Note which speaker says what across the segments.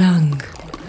Speaker 1: Klang.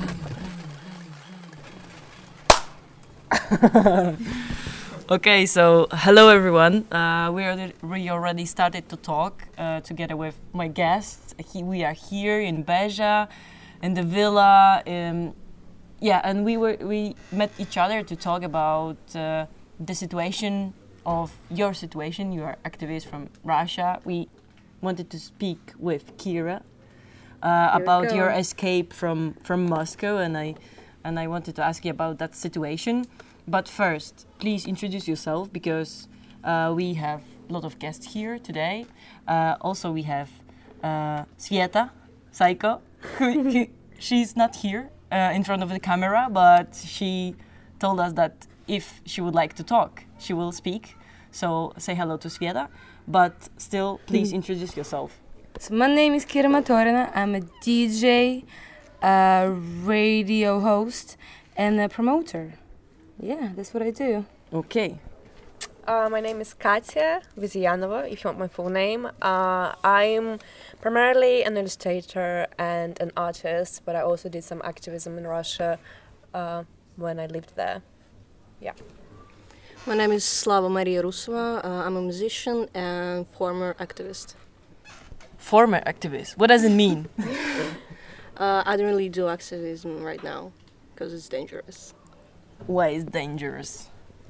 Speaker 1: Okay, so hello everyone. We already started to talk together with my guests. We are here in Beja, in the villa. And we met each other to talk about the situation of your situation. You are activist from Russia. We wanted to speak with Kira about your escape from Moscow, and I wanted to ask you about that situation. But first, please introduce yourself, because we have a lot of guests here today. Also, we have Sveta Saiko. She's not here in front of the camera, but she told us that if she would like to talk, she will speak. So say hello to Sveta, but still, please introduce yourself.
Speaker 2: So my name is Kira Matorina. I'm a DJ, a radio host, and a promoter. Yeah, that's what I do.
Speaker 1: Okay.
Speaker 3: My name is Katya Vizyanova, if you want my full name. I'm primarily an illustrator and an artist, but I also did some activism in Russia when I lived there. Yeah.
Speaker 4: My name is Slava Maria Rusova. I'm a musician and former activist.
Speaker 1: Former activist. What does it mean?
Speaker 4: I don't really do activism right now because it's dangerous.
Speaker 1: Why is dangerous?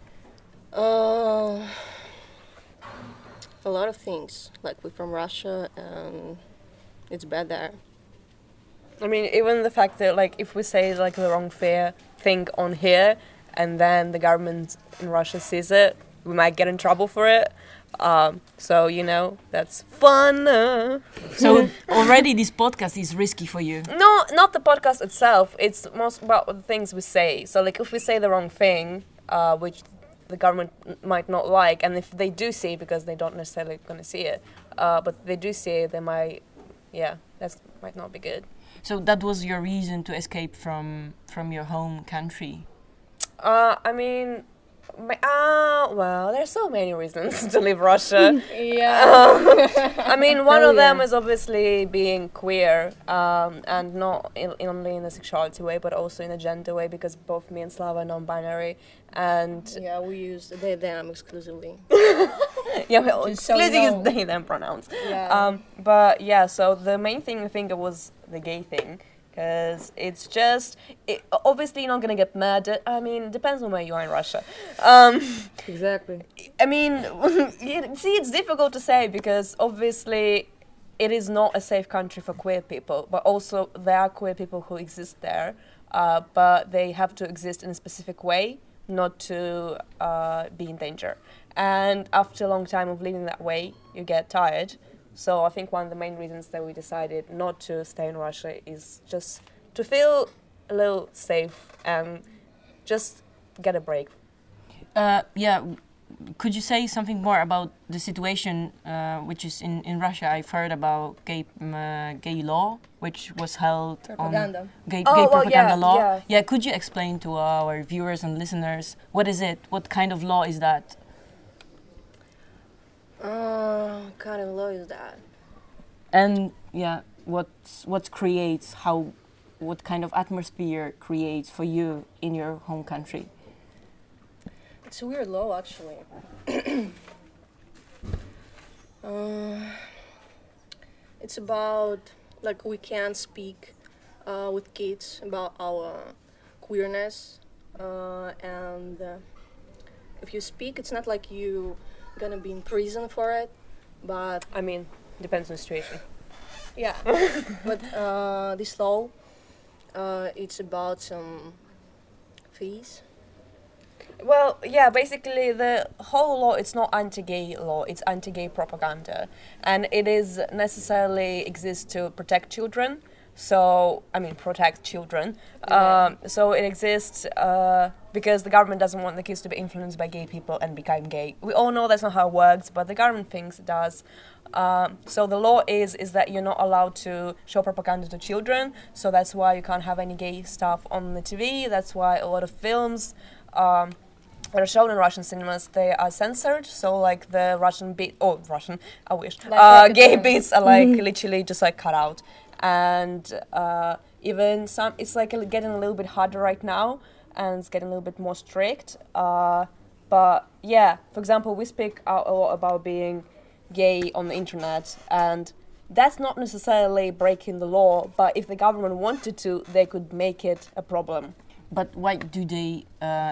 Speaker 4: A lot of things. Like, we're from Russia and it's bad there.
Speaker 3: I mean, even the fact that, like, if we say, like, the wrong thing on here and then the government in Russia sees it, we might get in trouble for it. So, you know, that's fun.
Speaker 1: So already this podcast is risky for you?
Speaker 3: No, not the podcast itself. It's most about the things we say. So, like, if we say the wrong thing, which the government might not like, and if they do see it, because they don't necessarily going to see it, but they do see it, they might, that might not be good.
Speaker 1: So that was your reason to escape from your home country?
Speaker 3: I mean... well, there's so many reasons to leave Russia. I mean, one of them is obviously being queer, and not only in a sexuality way, but also in a gender way, because both me and Slava are non-binary, and...
Speaker 4: Yeah, we use they, them exclusively.
Speaker 3: Well, exclusively is they, them pronouns.
Speaker 4: Yeah.
Speaker 3: But yeah, so the main thing I think it was the gay thing. Because it's just, obviously you're not going to get murdered. I mean, it depends on where you are in Russia.
Speaker 2: Exactly.
Speaker 3: I mean, see, it's difficult to say because obviously it is not a safe country for queer people, but also there are queer people who exist there, but they have to exist in a specific way, not to be in danger. And after a long time of living that way, you get tired. So I think one of the main reasons that we decided not to stay in Russia is just to feel a little safe and just get a break.
Speaker 1: Could you say something more about the situation which is in Russia? I've heard about gay law, which was held
Speaker 4: Propaganda.
Speaker 1: on gay propaganda law.
Speaker 3: Yeah.
Speaker 1: Could you explain to our viewers and listeners what is it? What kind of law is that?
Speaker 4: What kind of law is that?
Speaker 1: And what creates what kind of atmosphere creates for you in your home country?
Speaker 4: It's a weird law, actually. It's about, like, we can't speak with kids about our queerness, and if you speak, it's not like you gonna be in prison for it, but
Speaker 3: I mean, depends on the situation.
Speaker 4: Yeah. But this law, it's about some fees.
Speaker 3: Well, yeah, basically the whole law, it's not anti-gay law, it's anti-gay propaganda. And it is necessarily exists to protect children. So, I mean, protect children. So it exists because the government doesn't want the kids to be influenced by gay people and become gay. We all know that's not how it works, but the government thinks it does. So the law is that you're not allowed to show propaganda to children. So that's why you can't have any gay stuff on the TV. That's why a lot of films that are shown in Russian cinemas, they are censored. So like the Russian, I wish. Gay bits are like literally just like cut out. And Even some, it's like getting a little bit harder right now, and it's getting a little bit more strict. But yeah, for example, we speak a lot about being gay on the internet, and that's not necessarily breaking the law, but if the government wanted to, they could make it a problem.
Speaker 1: But why do they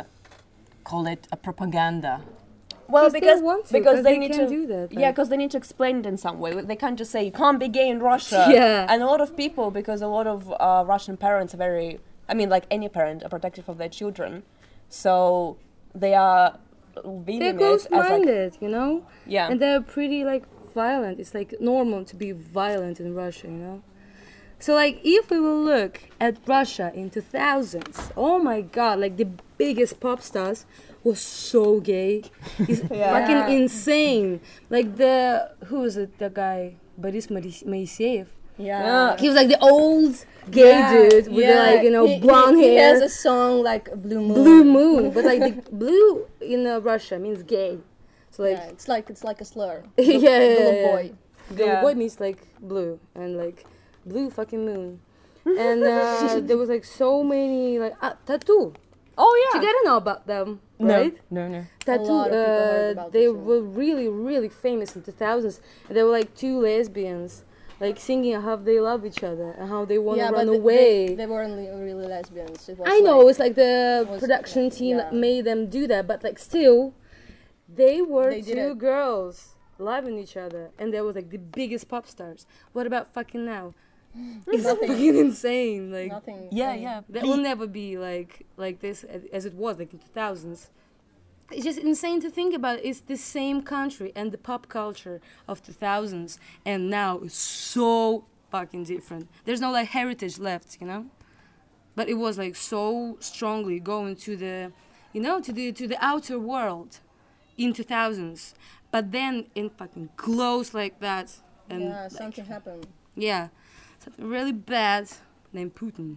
Speaker 1: call it a propaganda?
Speaker 3: Well,
Speaker 2: They
Speaker 3: because
Speaker 2: want to,
Speaker 3: because they
Speaker 2: they
Speaker 3: need
Speaker 2: can
Speaker 3: to
Speaker 2: do that,
Speaker 3: yeah,
Speaker 2: like-
Speaker 3: because they need to explain it in some way. They can't just say you can't be gay in Russia.
Speaker 2: Yeah.
Speaker 3: And a lot of people, because a lot of Russian parents are very, I mean, like any parent, are protective of their children, so they are viewing
Speaker 2: They're
Speaker 3: it as like
Speaker 2: close-minded, you know?
Speaker 3: yeah.
Speaker 2: And they're pretty, like, violent. It's, like, normal to be violent in Russia, you know? So, like, if we will look at Russia in 2000s, oh my god, like, the biggest pop stars was so gay. He's fucking insane. Like, who is it, the guy? Boris Moiseyev.
Speaker 4: Yeah.
Speaker 2: He was, like, the old gay dude with, the, like, you know, blonde
Speaker 4: he
Speaker 2: hair.
Speaker 4: has a song like Blue Moon.
Speaker 2: Blue moon, but like the blue in Russia means gay. So like,
Speaker 4: Yeah, it's like a slur.
Speaker 2: yeah,
Speaker 4: Boy.
Speaker 2: Little boy means like blue and like blue fucking moon. And there was like so many like tattoo.
Speaker 3: Oh yeah.
Speaker 2: You gotta know about them, right?
Speaker 1: No.
Speaker 2: Tattoo.
Speaker 4: lot of people heard about
Speaker 2: They
Speaker 4: Tattoo.
Speaker 2: were really famous in the 2000s. And they were like two lesbians, like singing how they love each other and how they want to
Speaker 4: Yeah,
Speaker 2: run
Speaker 4: but
Speaker 2: away.
Speaker 4: they weren't really lesbians. It was
Speaker 2: I know,
Speaker 4: like,
Speaker 2: it's like the
Speaker 4: was-
Speaker 2: production team
Speaker 4: yeah.
Speaker 2: made them do that, but like still, they were
Speaker 4: They did
Speaker 2: two
Speaker 4: it.
Speaker 2: girls loving each other, and they was like the biggest pop stars. What about fucking now? It's
Speaker 4: Nothing.
Speaker 2: fucking insane. Like
Speaker 4: nothing.
Speaker 1: Yeah.
Speaker 2: that will never be like this as it was like in 2000s. It's just insane to think about. It's the same country, and the pop culture of 2000s and now is so fucking different. There's no like heritage left, you know. But it was like so strongly going to the, you know, to the outer world in 2000s. But then in fucking close like that, and
Speaker 4: Yeah,
Speaker 2: like,
Speaker 4: something happened.
Speaker 2: yeah, something really bad named Putin,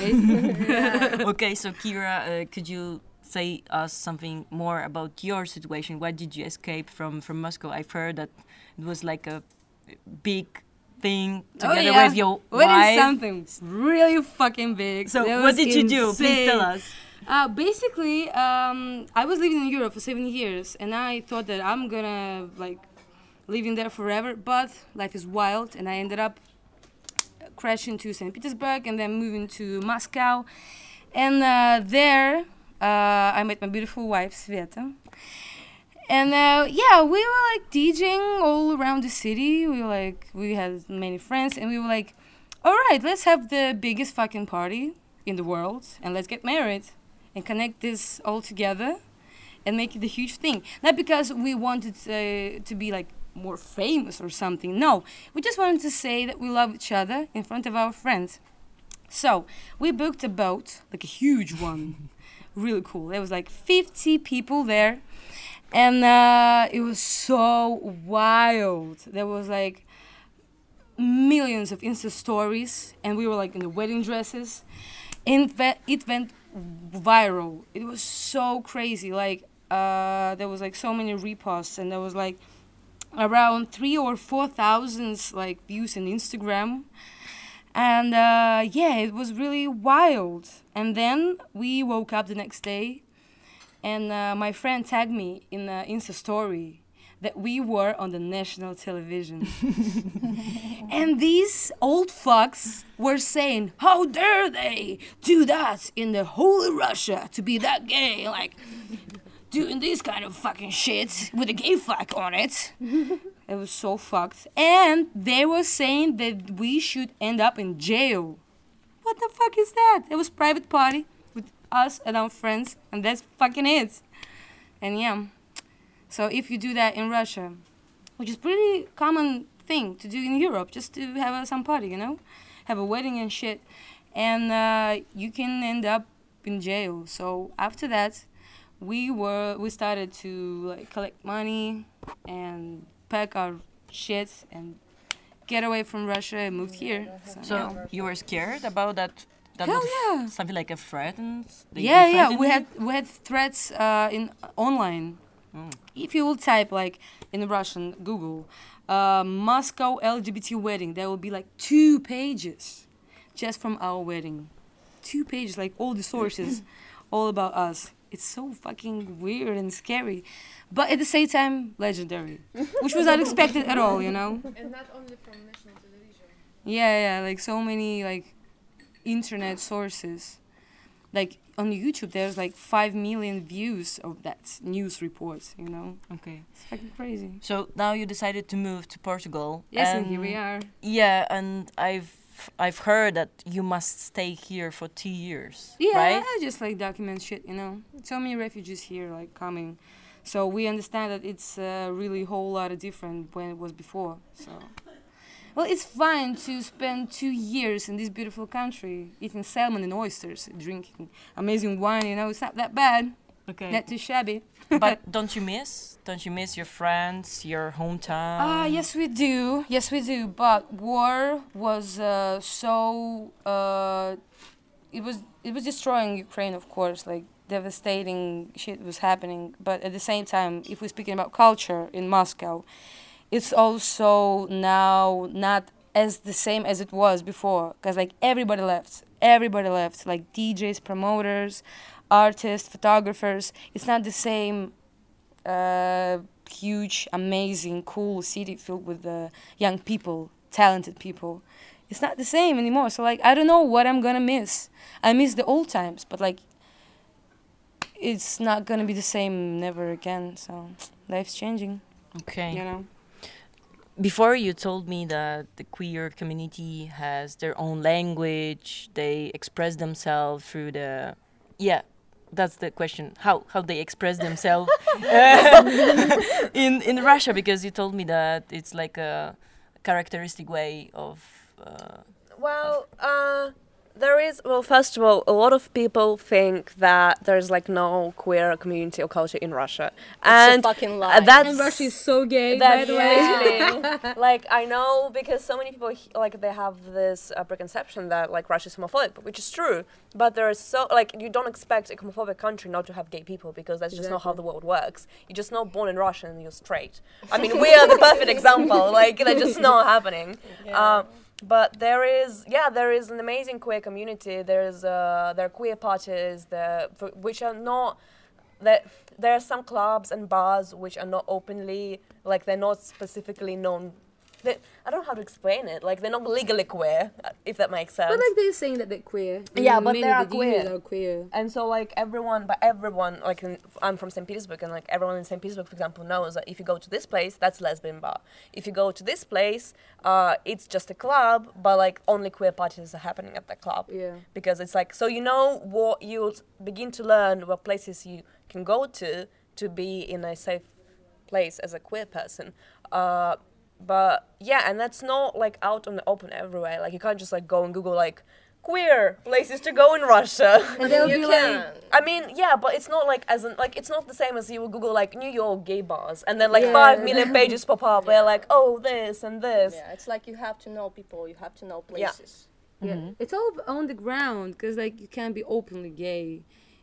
Speaker 2: right?
Speaker 1: Okay, so Kira, could you say us something more about your situation? Why did you escape from Moscow? I've heard that it was like a big thing together with your
Speaker 2: What
Speaker 1: wife.
Speaker 2: is something really fucking big?
Speaker 1: So
Speaker 2: That
Speaker 1: what
Speaker 2: was
Speaker 1: did you do? Please
Speaker 2: insane.
Speaker 1: tell us.
Speaker 2: Basically, I was living in Europe for 7 years, and I thought that I'm gonna like living there forever. But life is wild, and I ended up crashing to St. Petersburg and then moving to Moscow. And there, I met my beautiful wife, Sveta. And yeah, we were like DJing all around the city. We had many friends, and we were like, all right, let's have the biggest fucking party in the world, and let's get married and connect this all together and make it a huge thing. Not because we wanted to be like more famous or something. No, we just wanted to say that we love each other in front of our friends. So we booked a boat, like a huge one, really cool. There was like 50 people there, and it was so wild. There was like millions of Insta stories, and we were like in the wedding dresses, and it went viral. It was so crazy. Like there was like so many reposts, and there was like around 3,000 or 4,000 like views on Instagram. And yeah, it was really wild. And then we woke up the next day, and my friend tagged me in the Insta story that we were on the national television. And these old fucks were saying, how dare they do that in the holy Russia, to be that gay, like doing this kind of fucking shit with a gay flag on it. It was so fucked. And they were saying that we should end up in jail. What the fuck is that? It was private party with us and our friends, and that's fucking it. And yeah, so if you do that in Russia, which is pretty common thing to do in Europe, just to have some party, you know, have a wedding and shit, and you can end up in jail. So after that, we started to like collect money and pack our shit and get away from Russia and moved here.
Speaker 1: So you were scared about that? That
Speaker 2: Hell
Speaker 1: was
Speaker 2: yeah.
Speaker 1: something like a threat, and they
Speaker 2: Yeah,
Speaker 1: threatened
Speaker 2: we
Speaker 1: you?
Speaker 2: had threats in online. If you will type like in Russian Google Moscow LGBT wedding, there will be like 2 pages just from our wedding. 2 pages, like all the sources, all about us. It's so fucking weird and scary, but at the same time, legendary, which was unexpected at all, you know?
Speaker 5: And not only from national television.
Speaker 2: Yeah, like so many like internet sources. Like on YouTube, there's like 5 million views of that news report, you know?
Speaker 1: Okay.
Speaker 2: It's fucking crazy.
Speaker 1: So now you decided to move to Portugal.
Speaker 2: Yes, and here we are.
Speaker 1: Yeah, and I've heard that you must stay here for 2 years,
Speaker 2: Yeah,
Speaker 1: right?
Speaker 2: I just like document shit, you know? So many refugees here like coming. So we understand that it's really a whole lot of different when it was before, so... Well, it's fun to spend 2 years in this beautiful country, eating salmon and oysters, drinking amazing wine, you know, it's not that bad,
Speaker 1: Okay.
Speaker 2: not too shabby.
Speaker 1: But don't you miss your friends, your hometown?
Speaker 2: Yes we do, but war was it was destroying Ukraine, of course, like devastating shit was happening, but at the same time, if we're speaking about culture in Moscow, it's also now not as the same as it was before, because like everybody left, like DJs, promoters, artists, photographers. It's not the same huge, amazing, cool city filled with young people, talented people. It's not the same anymore. So like I don't know what I'm gonna miss. I miss the old times, but like it's not gonna be the same never again. So life's changing,
Speaker 1: Okay.
Speaker 2: you know.
Speaker 1: Before you told me that the queer community has their own language, they express themselves through the... Yeah, that's the question. How they express themselves in Russia, because you told me that it's like a characteristic way of...
Speaker 3: There is, first of all, a lot of people think that there's like no queer community or culture in Russia.
Speaker 4: It's a fucking lie.
Speaker 3: That's,
Speaker 2: And Russia is so gay, by
Speaker 3: that's
Speaker 2: the way.
Speaker 3: literally, like, I know because so many people, like, they have this preconception that, like, Russia is homophobic, which is true. But there is so, like, you don't expect a homophobic country not to have gay people because that's just not how the world works. You're just not born in Russia and you're straight. I mean, we are the perfect example. Like, that's just not happening.
Speaker 4: Yeah.
Speaker 3: But there is an amazing queer community. There are queer parties which are not that. There are some clubs and bars which are not openly, like, they're not specifically known. I don't know how to explain it. Like, they're not legally queer, if that makes sense.
Speaker 2: But like they're saying that they're queer.
Speaker 3: Yeah, but
Speaker 2: many
Speaker 3: they are
Speaker 2: of the DJs
Speaker 3: queer.
Speaker 2: are queer.
Speaker 3: And so, like, everyone, like, I'm from St. Petersburg, and, like, everyone in St. Petersburg, for example, knows that if you go to this place, that's lesbian bar. If you go to this place, it's just a club, but, like, only queer parties are happening at the club.
Speaker 2: Yeah.
Speaker 3: Because it's, like, so you know what you'll begin to learn, what places you can go to be in a safe place as a queer person. But yeah, and that's not like out on the open everywhere. Like you can't just like go and Google like queer places to go in Russia.
Speaker 2: And they'll
Speaker 4: You
Speaker 2: be
Speaker 4: can.
Speaker 2: like,
Speaker 3: I mean, yeah, but it's not like it's not the same as you would Google like New York gay bars and then like
Speaker 2: Yeah.
Speaker 3: 5 million pages pop up where like, oh, this and this.
Speaker 4: Yeah, it's like you have to know people, you have to know
Speaker 3: Yeah.
Speaker 4: places.
Speaker 2: yeah, it's all on the ground because like you can't be openly gay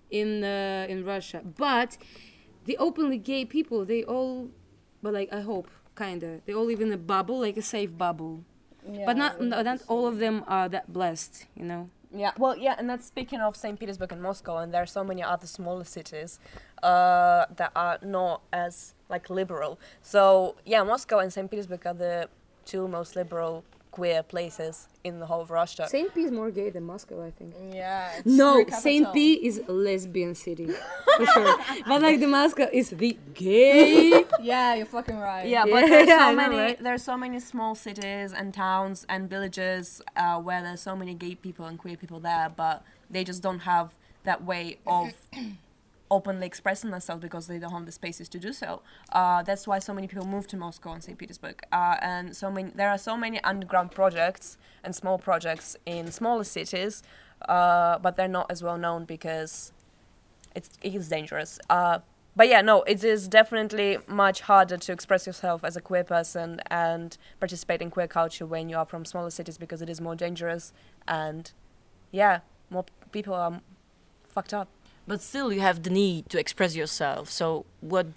Speaker 2: in Russia. But the openly gay people, they all, but like I hope, kinda, they all live in a bubble, like a safe bubble. But not all of them are that blessed, you know.
Speaker 3: Yeah, well, yeah, and that's speaking of St. Petersburg and Moscow, and there are so many other smaller cities that are not as like liberal. So yeah, Moscow and St. Petersburg are the 2 most liberal queer places in the whole of Russia.
Speaker 2: Saint P is more gay than Moscow, I think.
Speaker 4: Yeah. It's
Speaker 2: No,
Speaker 4: the
Speaker 2: Saint
Speaker 4: capital.
Speaker 2: P is a lesbian city, for sure. But like the Moscow is the gay.
Speaker 4: Yeah, you're fucking right.
Speaker 3: Yeah, but
Speaker 2: Yeah, I know, right?
Speaker 3: there's so many small cities and towns and villages where there's so many gay people and queer people there, but they just don't have that way of openly expressing themselves because they don't have the spaces to do so. That's why so many people move to Moscow and St. Petersburg. And there are so many underground projects and small projects in smaller cities, but they're not as well known because it is dangerous. But yeah, no, it is definitely much harder to express yourself as a queer person and participate in queer culture when you are from smaller cities because it is more dangerous and, yeah, more people are fucked up.
Speaker 1: But still, you have the need to express yourself. So, what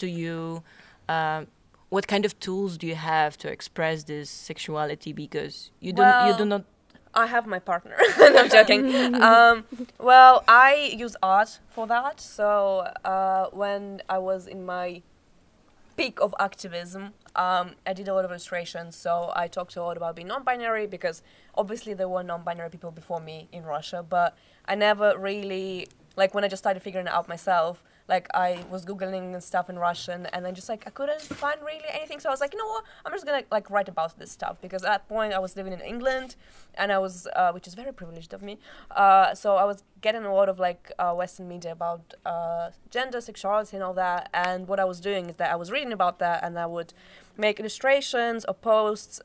Speaker 1: kind of tools do you have to express this sexuality? Because you do not.
Speaker 3: I have my partner. No, I'm joking. Well, I use art for that. So when I was in my peak of activism, I did a lot of illustrations. So I talked a lot about being non-binary because obviously there were non-binary people before me in Russia, but I never really, like when I just started figuring it out myself, like I was Googling and stuff in Russian and then just like I couldn't find really anything. So I was like, you know what, I'm just gonna like write about this stuff because at that point I was living in England and I was, which is very privileged of me. So I was getting a lot of like Western media about gender, sexuality and all that. And what I was doing is that I was reading about that and I would make illustrations or posts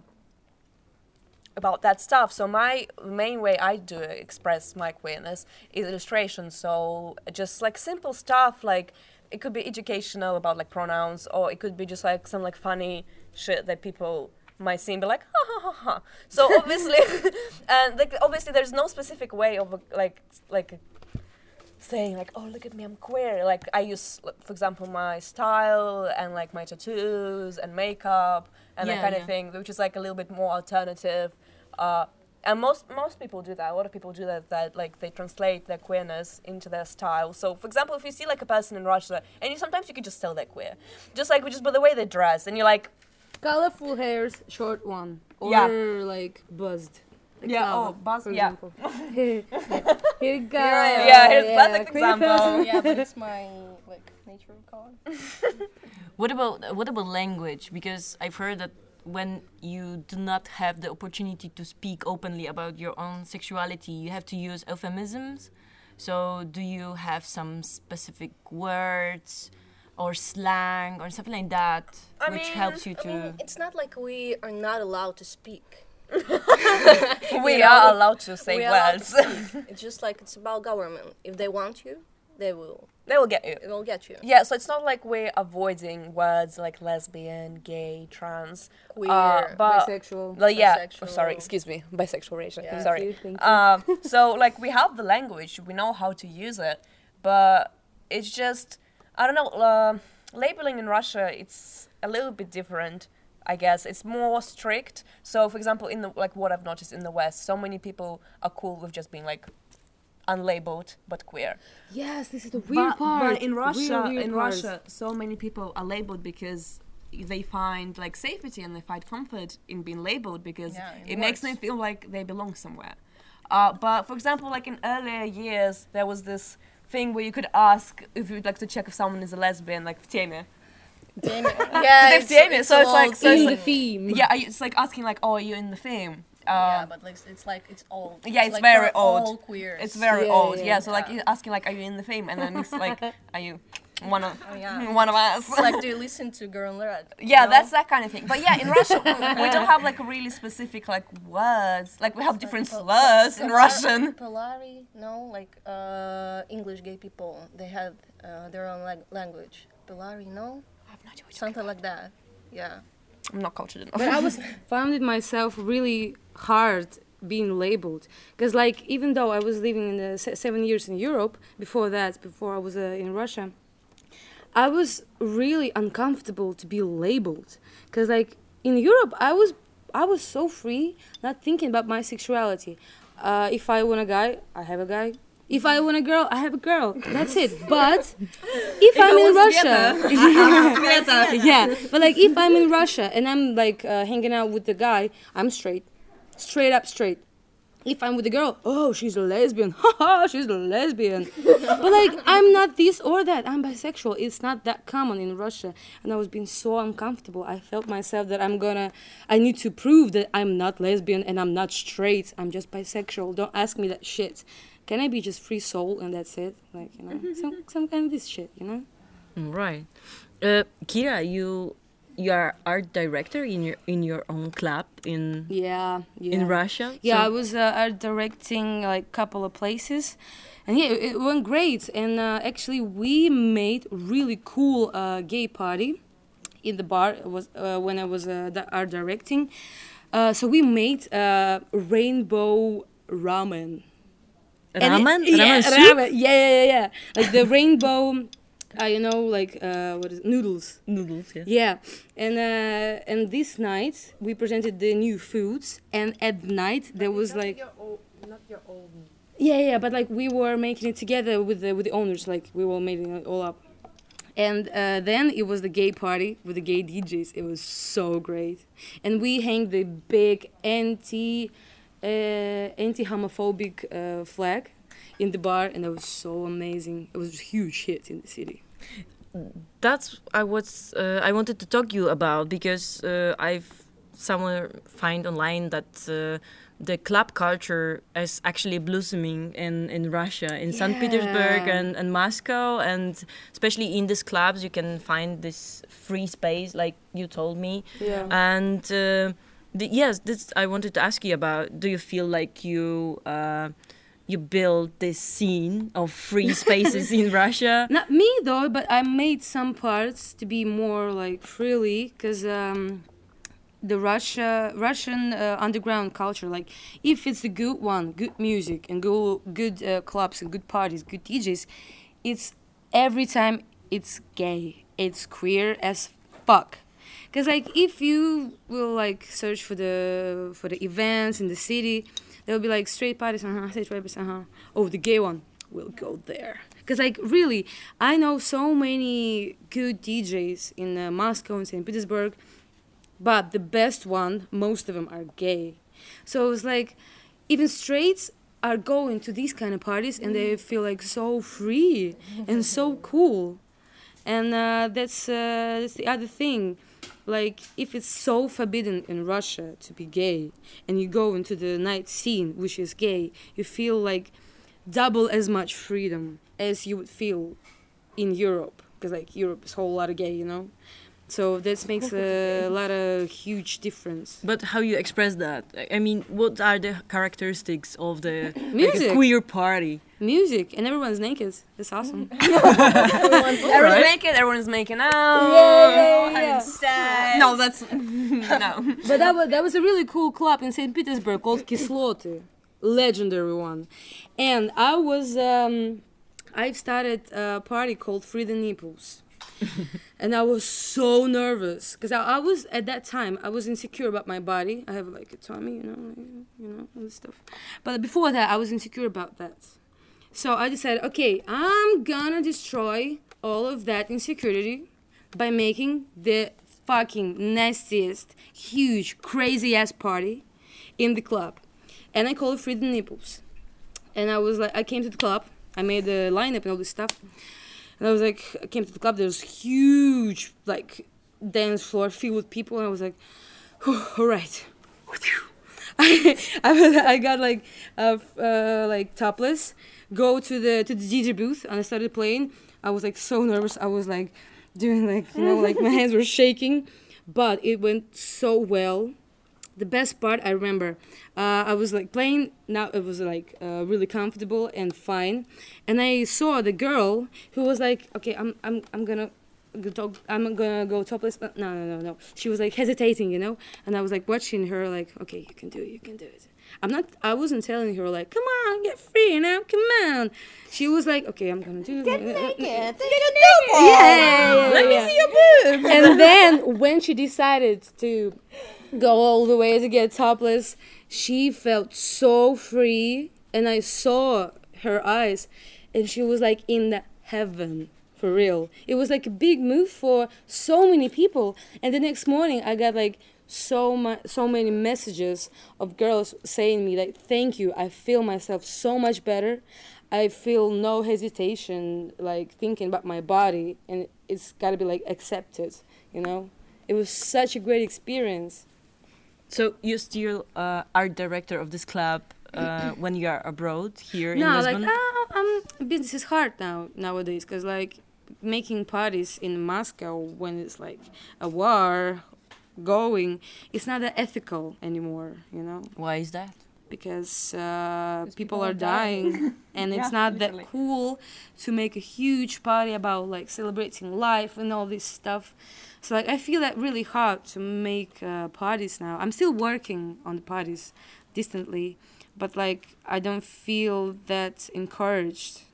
Speaker 3: about that stuff. So my main way I do express my queerness is illustration. So just like simple stuff, like it could be educational about like pronouns, or it could be just like some like funny shit that people might see and be like ha ha ha ha. So obviously and like obviously there's no specific way of like saying like, oh, look at me, I'm queer. Like I use, for example, my style and like my tattoos and makeup and that kind of thing, which is like a little bit more alternative. And most people do that. A lot of people do that like they translate their queerness into their style. So, for example, if you see like a person in Russia, and sometimes you can just tell they're queer, just by the way they dress, and you're like,
Speaker 2: Colorful hairs, short one, or like buzzed. Like
Speaker 3: yeah,
Speaker 2: flower,
Speaker 3: oh, buzz,
Speaker 2: for
Speaker 3: yeah.
Speaker 2: example. Here you go.
Speaker 3: Yeah, here's perfect example.
Speaker 4: Yeah, but it's my like nature color.
Speaker 1: What about language? Because I've heard that when you do not have the opportunity to speak openly about your own sexuality, you have to use euphemisms. So do you have some specific words or slang or something like that which helps you to...
Speaker 4: I mean, it's not like we are not allowed to speak.
Speaker 3: We are allowed to say
Speaker 4: We are allowed
Speaker 3: words.
Speaker 4: to speak. It's just like it's about government. If they want you, they will.
Speaker 3: They will get you.
Speaker 4: It will get you.
Speaker 3: Yeah, so it's not like we're avoiding words like lesbian, gay, trans,
Speaker 4: Queer,
Speaker 3: but
Speaker 2: bisexual.
Speaker 3: Well, yeah. Oh,
Speaker 4: bisexual.
Speaker 3: sorry, excuse me. Bisexual racial.
Speaker 4: Yeah.
Speaker 3: Sorry.
Speaker 2: Thank you.
Speaker 3: So like we have the language, we know how to use it, but it's just I don't know. Labeling in Russia, it's a little bit different. I guess it's more strict. So, for example, in the like what I've noticed in the West, so many people are cool with just being like unlabeled but queer.
Speaker 2: Yes, this is the weird part.
Speaker 3: But in Russia,
Speaker 2: Weird part.
Speaker 3: so many people are labeled because they find like safety and they find comfort in being labeled because it makes them feel like they belong somewhere. But for example, like in earlier years, there was this thing where you could ask if you'd like to check if someone is a lesbian, like в теме.
Speaker 4: Yeah,
Speaker 3: в теме. So it's like
Speaker 2: in the theme.
Speaker 3: yeah, it's like asking like, oh, are you in the theme?
Speaker 4: Yeah, but like it's old.
Speaker 3: Yeah, it's
Speaker 4: like
Speaker 3: very
Speaker 4: for
Speaker 3: old.
Speaker 4: All queers.
Speaker 3: It's very
Speaker 2: Yeah,
Speaker 3: old.
Speaker 2: yeah.
Speaker 3: Yeah, so like you're asking like, are you in the theme? And then it's like, are you one of
Speaker 4: yeah.
Speaker 3: one of us?
Speaker 4: It's like, do you listen to Girl in Red?
Speaker 3: Yeah,
Speaker 4: No?
Speaker 3: that's that kind of thing. But yeah, in Russia, we don't have like really specific like words. Like we have different slurs in Russian.
Speaker 4: Polari, no, like English gay people, they have their own language. Polari, no,
Speaker 3: I have no idea what you're
Speaker 4: something like that. Yeah.
Speaker 3: I'm not cultured enough.
Speaker 2: But I was found it myself really hard being labeled because like even though I was living in the 7 years in Europe before I was in Russia, I was really uncomfortable to be labeled because like in Europe I was so free, not thinking about my sexuality. If I want a guy, I have a guy. If I want a girl, I have a girl. That's it. But if I'm in Russia, yeah. But like if I'm in Russia and I'm like hanging out with the guy, I'm straight up straight. If I'm with a girl, oh, she's a lesbian. Haha, she's a lesbian. But like I'm not this or that. I'm bisexual. It's not that common in Russia, and I was being so uncomfortable. I felt myself that I need to prove that I'm not lesbian and I'm not straight. I'm just bisexual. Don't ask me that shit. Can I be just free soul and that's it? Like, you know, some kind of this shit, you know?
Speaker 1: Right. Kira, you are art director in your own club in Russia.
Speaker 2: Yeah,
Speaker 1: So-
Speaker 2: I was art directing like a couple of places, and yeah, it went great. And actually, we made really cool gay party in the bar. It was when I was art directing. So we made rainbow ramen.
Speaker 1: Ramen?
Speaker 2: Yeah,
Speaker 1: Ramen soup?
Speaker 2: ramen. Yeah. Like the rainbow like what is it? Noodles.
Speaker 1: Noodles, yeah.
Speaker 2: Yeah, and this night we presented the new foods, and at night there was like
Speaker 5: Not your own.
Speaker 2: yeah, but like we were making it together with the owners, like we were making it all up. And then it was the gay party with the gay DJs. It was so great, and we hang the big anti-homophobic flag in the bar, and it was so amazing. It was a huge hit in the city.
Speaker 1: That's I wanted to talk you about because I've somewhere find online that the club culture is actually blossoming in Russia, in St. Petersburg and Moscow, and especially in these clubs you can find this free space, like you told me.
Speaker 2: Yeah.
Speaker 1: And yes, this I wanted to ask you about. Do you feel like you build this scene of free spaces in Russia?
Speaker 2: Not me though, but I made some parts to be more like freely, because the Russian underground culture, like if it's a good one, good music and good clubs and good parties, good DJs, it's every time it's gay, it's queer as fuck. Because like if you will like search for the events in the city, there will be like straight parties, straight parties, oh, the gay one, we'll go there. Because like really, I know so many good DJs in Moscow and St. Petersburg, but the best one, most of them are gay. So it's like even straights are going to these kind of parties and they feel like so free and so cool. And that's the other thing. Like if it's so forbidden in Russia to be gay and you go into the night scene which is gay, you feel like double as much freedom as you would feel in Europe, because like Europe is a whole lot of gay, you know. So that makes a lot of huge difference.
Speaker 1: But how you express that? I mean, what are the characteristics of the like,
Speaker 2: Music.
Speaker 1: a queer party?
Speaker 2: Music, and everyone's naked. That's awesome.
Speaker 3: Everyone's naked, everyone's making out, having sex.
Speaker 5: No, that's no.
Speaker 2: But that was a really cool club in St. Petersburg called Kisloty, legendary one. And I've started a party called Free the Nipples. And I was so nervous because I was at that time I was insecure about my body. I have like a tummy, you know, all this stuff. But before that, I was insecure about that. So I decided, okay, I'm gonna destroy all of that insecurity by making the fucking nastiest, huge, crazy ass party in the club, and I called it Free the Nipples. And I was like, I came to the club, I made the lineup and all this stuff. And I was like, I came to the club, there was huge, like, dance floor filled with people, and I was like, all right. I got like topless, go to the DJ booth, and I started playing. I was like so nervous. I was like doing like, you know, like my hands were shaking, but it went so well. The best part I remember, I was like playing. Now it was like really comfortable and fine, and I saw the girl who was like, okay, I'm gonna go topless. But no. She was like hesitating, you know, and I was like watching her, like, okay, you can do it. I wasn't telling her like, come on, get free now, come on. She was like, okay, I'm gonna do it.
Speaker 5: Get naked.
Speaker 2: Yeah.
Speaker 5: Let me see your boobs.
Speaker 2: And then when she decided to go all the way to get topless, she felt so free, and I saw her eyes, and she was like in the heaven, for real. It was like a big move for so many people. And the next morning I got like so many messages of girls saying me like, thank you, I feel myself so much better. I feel no hesitation like thinking about my body, and it's got to be like accepted, you know. It was such a great experience.
Speaker 1: So you still art director of this club when you are abroad here in Lisbon?
Speaker 2: Business is hard nowadays, because like making parties in Moscow when it's like a war going, it's not that ethical anymore, you know.
Speaker 1: Why is that?
Speaker 2: Because people are dying and it's not that cool to make a huge party about like celebrating life and all this stuff. So like I feel that really hard to make parties now. I'm still working on the parties distantly, but like I don't feel that encouraged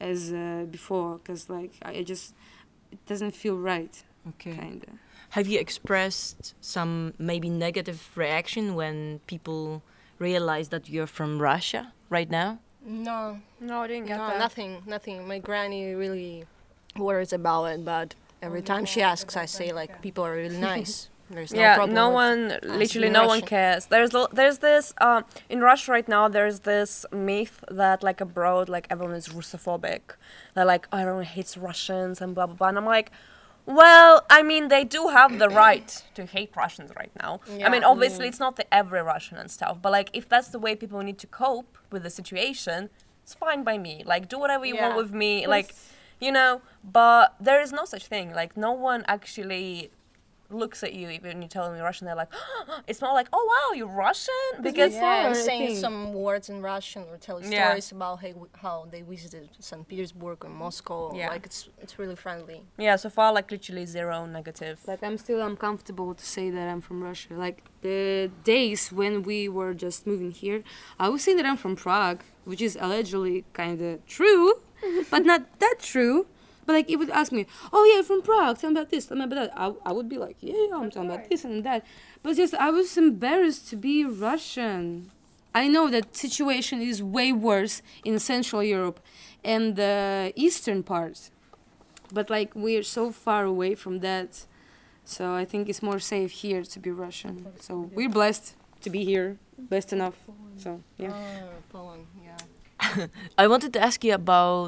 Speaker 2: as before, because like I just it doesn't feel right,
Speaker 1: Okay.
Speaker 2: kinda.
Speaker 1: Have you expressed some maybe negative reaction when people realize that you're from Russia right now?
Speaker 4: No,
Speaker 3: No, I didn't get
Speaker 4: no,
Speaker 3: that.
Speaker 4: nothing. My granny really worries about it, but every time she asks, I say like people are really nice. There's no
Speaker 3: Yeah,
Speaker 4: problem.
Speaker 3: no
Speaker 4: with
Speaker 3: one, literally
Speaker 4: being
Speaker 3: no one
Speaker 4: Russian.
Speaker 3: cares. There's this in Russia right now. There's this myth that like abroad, like everyone is Russophobic. They're like, oh, everyone hates Russians and blah blah blah. And I'm like, well, I mean, they do have the right to hate Russians right now. I mean,
Speaker 4: Yeah.
Speaker 3: obviously, it's not the every Russian and stuff, but like if that's the way people need to cope with the situation, it's fine by me. Like do whatever you want
Speaker 4: Yeah.
Speaker 3: with me, like you know. But there is no such thing. Like no one actually looks at you even you tell them you're Russian. They're like, it's not like, oh wow, you're Russian, because
Speaker 4: Yeah, and
Speaker 2: I
Speaker 4: saying
Speaker 2: think.
Speaker 4: some words in Russian or telling
Speaker 3: Yeah.
Speaker 4: stories about how they visited St. Petersburg or Moscow.
Speaker 3: Yeah.
Speaker 4: Like it's really friendly.
Speaker 3: yeah, so far like literally zero negative.
Speaker 2: Like I'm still uncomfortable to say that I'm from Russia. Like the days when we were just moving here, I would say that I'm from Prague, which is allegedly kind of true, but not that true. But like, it would ask me, "Oh yeah, from Prague. Tell me about this. Tell me about that." I would be like, "Yeah, I'm talking about this and that." But just I was embarrassed to be Russian. I know that situation is way worse in Central Europe and the eastern part, but like we're so far away from that, so I think it's more safe here to be Russian. So we're blessed to be here, blessed enough. So yeah.
Speaker 4: Poland, yeah.
Speaker 1: I wanted to ask you about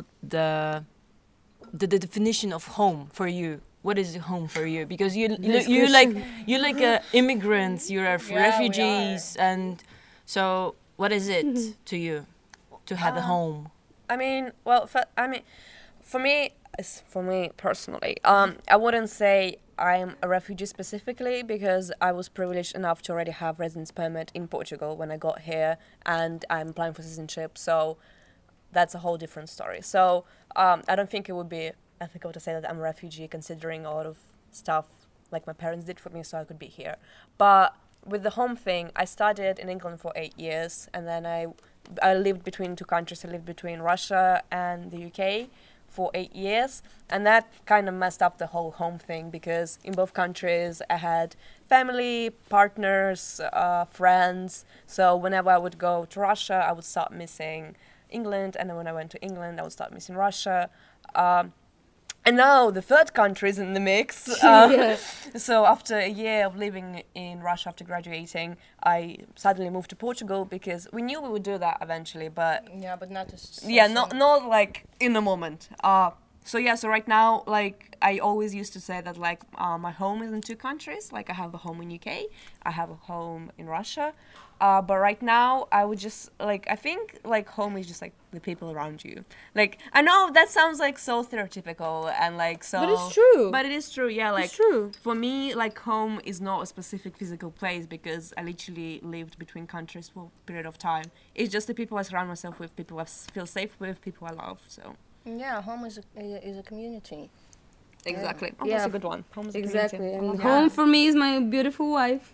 Speaker 1: the definition of home for you. What is home for you? Because you like immigrants, you're
Speaker 4: Yeah, we
Speaker 1: refugees, and so what is it to you to have a home?
Speaker 3: I mean, well, for me personally, I wouldn't say I'm a refugee specifically because I was privileged enough to already have residence permit in Portugal when I got here, and I'm applying for citizenship. So that's a whole different story. So I don't think it would be ethical to say that I'm a refugee, considering a lot of stuff like my parents did for me, so I could be here. But with the home thing, I studied in England for 8 years, and then I lived between two countries. I lived between Russia and the UK for 8 years, and that kind of messed up the whole home thing because in both countries I had family, partners, friends. So whenever I would go to Russia, I would start missing England, and then when I went to England, I would start missing Russia. And now the third country is in the mix. So after a year of living in Russia after graduating, I suddenly moved to Portugal because we knew we would do that eventually, but
Speaker 4: Yeah, but not just.
Speaker 3: yeah, not like in the moment. So right now, like I always used to say that like my home is in two countries. Like I have a home in UK, I have a home in Russia. But right now, I would just like I think like home is just like the people around you. Like I know that sounds like so stereotypical and like so.
Speaker 2: But it's true.
Speaker 3: But it is true. Yeah, like
Speaker 2: It's true.
Speaker 3: for me, like home is not a specific physical place because I literally lived between countries for a period of time. It's just the people I surround myself with, people I feel safe with, people I love. So
Speaker 4: Yeah, home is a community.
Speaker 3: exactly. Oh,
Speaker 2: Yeah.
Speaker 3: that's a good one. Home is a
Speaker 2: Exactly.
Speaker 3: community. I
Speaker 2: And
Speaker 3: love
Speaker 2: home for me is my beautiful wife.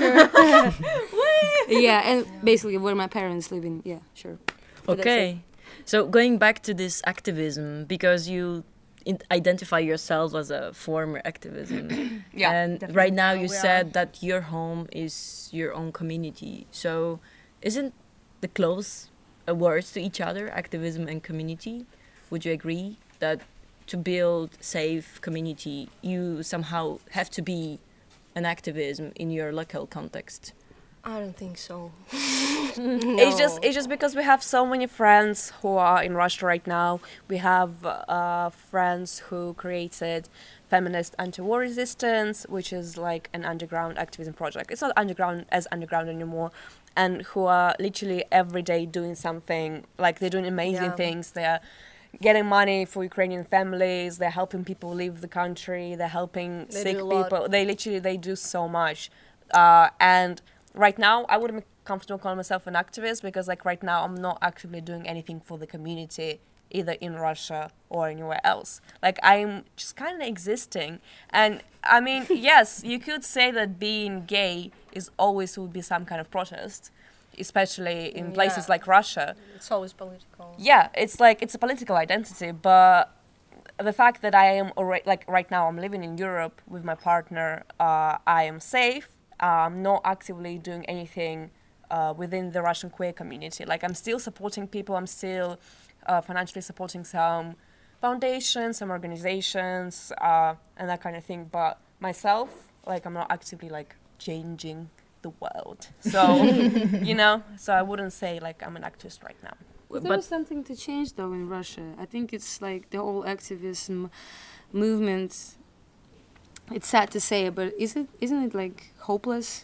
Speaker 2: Yeah, and basically where my parents live in. Yeah, sure. But that's
Speaker 1: Okay, so going back to this activism, because you identify yourself as a former activism,
Speaker 3: Yeah,
Speaker 1: and
Speaker 3: definitely.
Speaker 1: right now you
Speaker 4: We are.
Speaker 1: said that your home is your own community. So, isn't the close words to each other, activism and community? Would you agree that to build safe community, you somehow have to be an activism in your local context?
Speaker 4: I don't think so.
Speaker 3: It's just because we have so many friends who are in Russia right now. We have friends who created Feminist Anti-War Resistance, which is like an underground activism project. It's not underground anymore, and who are literally every day doing something. Like they're doing amazing
Speaker 4: Yeah.
Speaker 3: things. They are getting money for Ukrainian families. They're helping people leave the country. They're helping
Speaker 4: They
Speaker 3: sick
Speaker 4: do a lot.
Speaker 3: people. They do so much, and right now I wouldn't be comfortable calling myself an activist because like right now I'm not actively doing anything for the community either in Russia or anywhere else. Like I'm just kind of existing. And I mean, yes, you could say that being gay is always would be some kind of protest. especially in places
Speaker 4: Yeah.
Speaker 3: like Russia.
Speaker 4: It's always political.
Speaker 3: Yeah, it's like it's a political identity, but the fact that I am already like right now I'm living in Europe with my partner, I am safe. I'm not actively doing anything within the Russian queer community. Like I'm still supporting people. I'm still financially supporting some foundations, some organizations, and that kind of thing. But myself, like I'm not actively like changing the world. So you know, so I wouldn't say like I'm an activist right now.
Speaker 2: But there is something to change though in Russia. I think it's like the whole activism movement. It's sad to say, but isn't it like hopeless?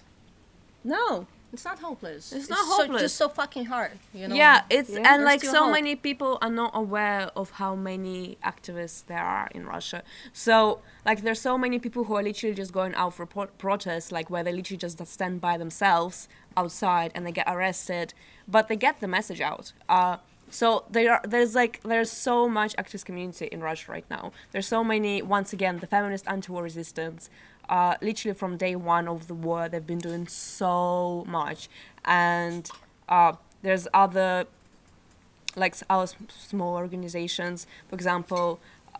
Speaker 4: No, it's not hopeless.
Speaker 3: It's not
Speaker 4: so,
Speaker 3: hopeless.
Speaker 4: just so fucking hard, you know.
Speaker 3: Yeah, it's
Speaker 2: Yeah.
Speaker 3: and
Speaker 4: There's
Speaker 3: like
Speaker 4: still
Speaker 3: so
Speaker 4: hope.
Speaker 3: many people are not aware of how many activists there are in Russia. So like there's so many people who are literally just going out for protests, like where they literally just stand by themselves outside and they get arrested, but they get the message out. So there's so much activist community in Russia right now. There's so many, once again, the feminist anti-war resistance. Literally from day one of the war, they've been doing so much, and there's other like our small organizations. For example,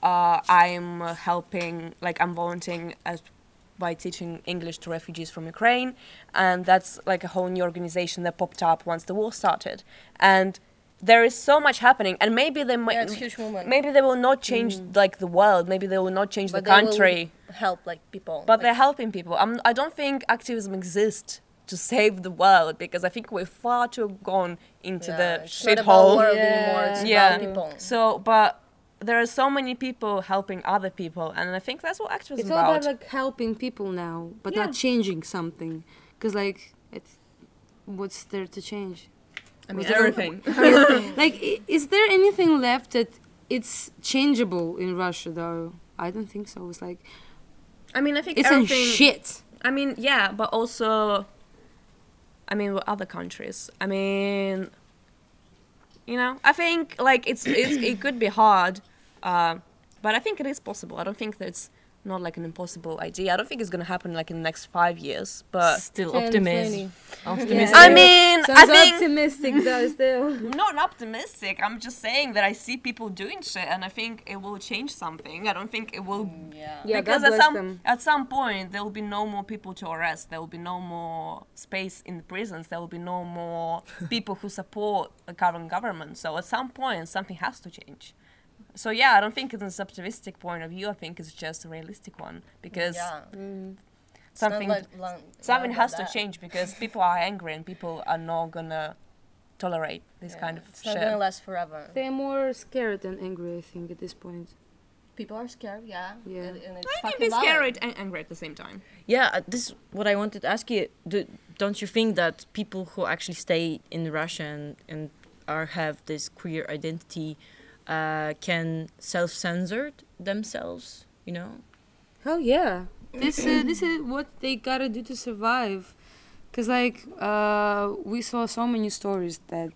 Speaker 3: I'm helping, like I'm volunteering by teaching English to refugees from Ukraine, and that's like a whole new organization that popped up once the war started, and there is so much happening, and maybe they might,
Speaker 4: Yeah, it's a huge movement.
Speaker 3: maybe they will not change like the world, maybe they will not change
Speaker 4: But
Speaker 3: the
Speaker 4: they will
Speaker 3: country,
Speaker 4: help like people.
Speaker 3: but
Speaker 4: like,
Speaker 3: they're helping people. I don't think activism exists to save the world, because I think we're far too gone into
Speaker 4: yeah,
Speaker 3: the
Speaker 4: it's not about
Speaker 3: shithole.
Speaker 4: world anymore. It's
Speaker 3: Yeah.
Speaker 4: about people.
Speaker 3: So, but there are so many people helping other people, and I think that's what activism
Speaker 2: It's
Speaker 3: is
Speaker 2: all
Speaker 3: about.
Speaker 2: about like helping people now, but
Speaker 3: Yeah.
Speaker 2: not changing something. Cause like, what's there to change?
Speaker 3: I mean,
Speaker 2: Was it-
Speaker 3: everything.
Speaker 2: Like, is there anything left that it's changeable in Russia though? I don't think so. It's like
Speaker 3: I mean, I think
Speaker 2: it's in
Speaker 3: everything.
Speaker 2: shit.
Speaker 3: I mean, yeah, but also, I mean, with other countries. I mean, you know, I think like it could be hard, but I think it is possible. I don't think that's not like an impossible idea. I don't think it's gonna happen like in the next 5 years, but
Speaker 1: Still
Speaker 2: 10,
Speaker 1: optimism.
Speaker 2: 20.
Speaker 1: Optimism.
Speaker 3: I mean, I think
Speaker 2: optimistic though. Still.
Speaker 3: I'm not optimistic. I'm just saying that I see people doing shit, and I think it will change something. I don't think it will.
Speaker 4: Yeah.
Speaker 2: Yeah,
Speaker 3: Because
Speaker 2: God bless them.
Speaker 3: at some point there will be no more people to arrest. There will be no more space in the prisons. There will be no more people who support the current government. So at some point something has to change. So yeah, I don't think it's an optimistic point of view. I think it's just a realistic one, because
Speaker 4: Yeah.
Speaker 3: something
Speaker 4: It's not like
Speaker 3: something
Speaker 4: about
Speaker 3: has to
Speaker 4: that.
Speaker 3: change, because people are angry and people are not gonna tolerate this
Speaker 4: Yeah,
Speaker 3: kind of
Speaker 4: it's not gonna
Speaker 3: shit.
Speaker 4: last forever.
Speaker 2: They're more scared than angry, I think, at this point.
Speaker 4: People are scared, yeah.
Speaker 2: Yeah.
Speaker 4: And it's
Speaker 3: I can
Speaker 4: fucking
Speaker 3: be
Speaker 4: valid.
Speaker 3: scared and angry at the same time.
Speaker 1: Yeah, this is what I wanted to ask you. Don't you think that people who actually stay in Russia and have this queer identity can self-censor themselves? You know?
Speaker 2: Hell yeah. This is what they gotta do to survive. Cause like we saw so many stories that